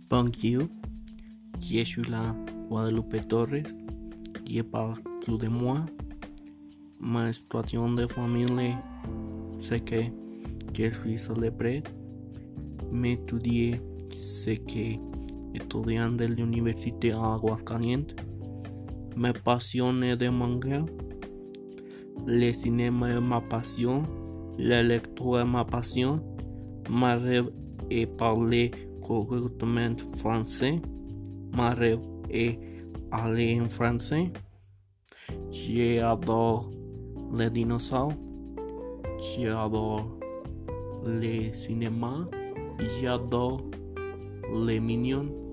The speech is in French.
Bonjour, je suis la Guadalupe Torres. Je parle de moi. Ma situación de familia, sé que je suis célébré. Me estudié, sé que estudiante de la Universidad de Aguascalientes. Me apasiona de manga. Le cinéma es ma passion. La lectura es ma passion. Ma rêve est parler correctement français. Ma rêve est aller en français. J'adore les dinosaures. J'adore les cinémas. J'adore les mignons.